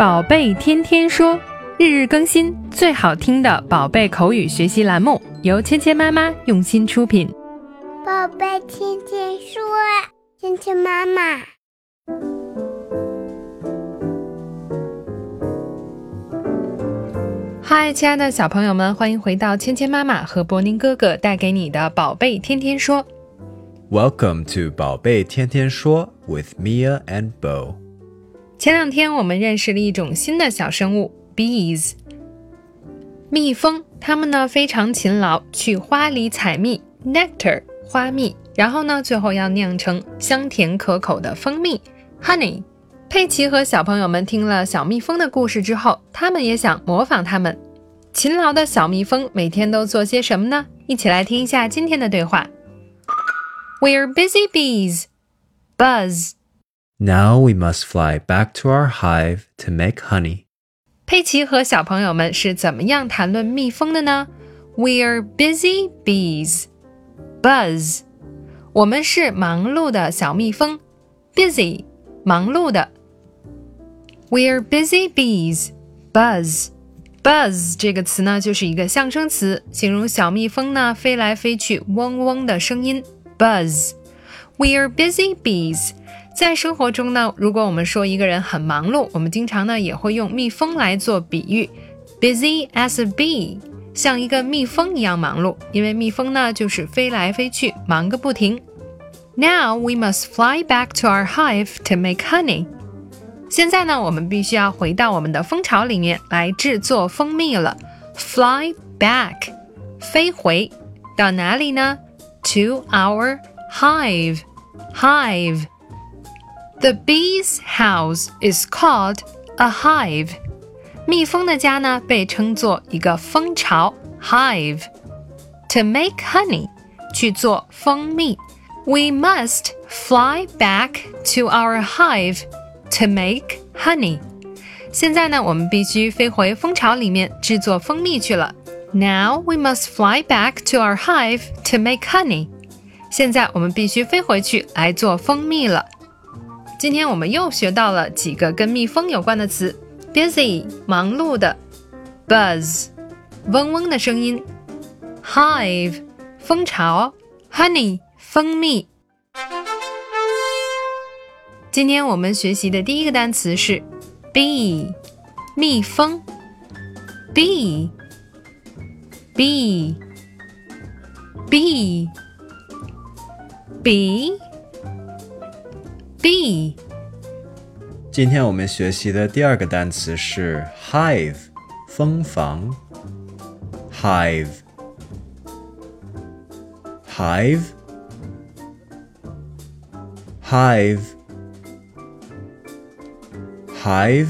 宝贝天天说，日日更新，最好听的宝贝口语学习栏目，由芊芊妈妈用心出品。 宝贝天天说，芊芊妈妈。 嗨，亲爱的小朋友们，欢迎回到芊芊妈妈和博宁哥哥带给你的宝贝天天说。 Welcome to 宝贝天天说 with Mia and Bo。 前两天我们认识了一种新的小生物 bees， 蜜蜂，它们呢非常勤劳，去花里采蜜 nectar 花蜜，然后呢最后要酿成香甜可口的蜂蜜 honey。 佩奇和小朋友们听了小蜜蜂的故事之后，他们也想模仿他们。勤劳的小蜜蜂每天都做些什么呢？一起来听一下今天的对话。 We're busy bees. Buzz. Now we must fly back to our hive to make honey. 佩奇和小朋友们是怎么样谈论蜜蜂的呢？ We're busy bees. Buzz. 我们是忙碌的小蜜蜂 busy 忙碌的。 We're busy bees. Buzz. Buzz 这个词呢就是一个象声词，形容小蜜蜂呢飞来飞去嗡嗡的声音 Buzz. We're busy bees. 在生活中呢，如果我们说一个人很忙碌，我们经常呢也会用蜜蜂来做比喻 busy as a bee， 像一个蜜蜂一样忙碌，因为蜜蜂呢就是飞来飞去忙个不停。 Now we must fly back to our hive to make honey。 现在呢我们必须要回到我们的蜂巢里面来制作蜂蜜了。 Fly back 飞回到哪里呢？ To our hive. The bee's house is called a hive. 蜜蜂的家呢被称作一个蜂巢 hive. To make honey 去做蜂蜜。 We must fly back to our hive to make honey. 现在呢我们必须飞回蜂巢里面制作蜂蜜去了。 Now we must fly back to our hive to make honey. 现在我们必须飞回去来做蜂蜜了。今天我们又学到了几个跟蜜蜂有关的词 busy 忙碌的， buzz 嗡嗡的声音， hive 蜂巢， honey 蜂蜜。今天我们学习的第一个单词是 bee 蜜蜂 bee bee bee bee bee。 今天我们学习的第二个单词是 hive 蜂房。 hive hive hive hive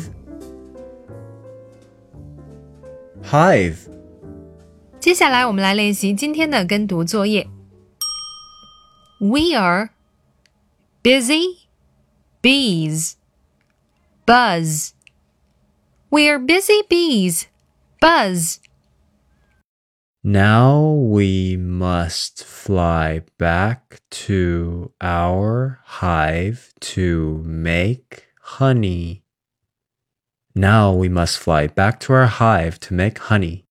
hive。 接下来我们来练习今天的跟读作业。 We are busy bees. Buzz. We're busy bees. Buzz. Now we must fly back to our hive to make honey. Now we must fly back to our hive to make honey.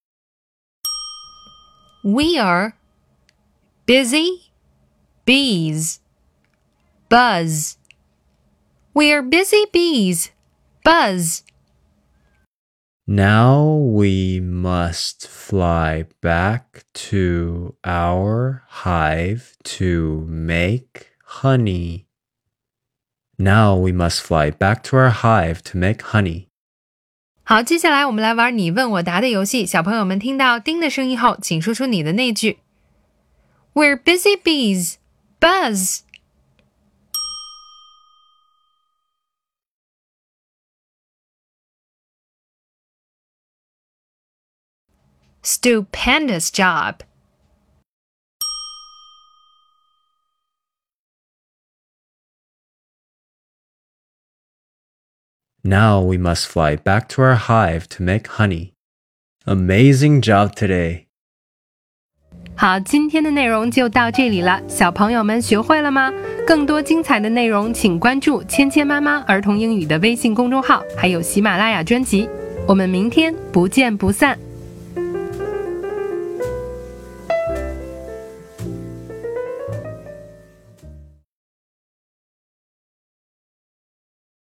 We are busy bees. Buzz. We're busy bees. Buzz. Now we must fly back to our hive to make honey. Now we must fly back to our hive to make honey. 好，接下来我们来玩你问我答的游戏。小朋友们听到叮的声音后，请说出你的那句。 We're busy bees. Buzz. Stupendous job. Now we must fly back to our hive to make honey. Amazing job today. 好，今天的内容就到这里了，小朋友们学会了吗？ 更多精彩的内容，请关注芊芊妈妈儿童英语的微信公众号，还有喜马拉雅专辑。我们明天不见不散。